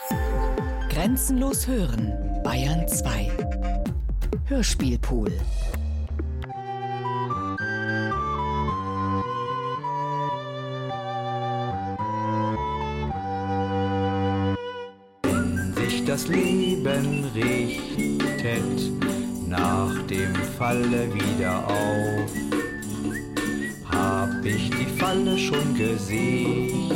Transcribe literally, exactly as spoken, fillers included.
Grenzenlos hören, Bayern zwei. Hörspielpool. Wenn sich das Leben richtet nach dem Falle wieder auf, hab ich die Falle schon gesehen.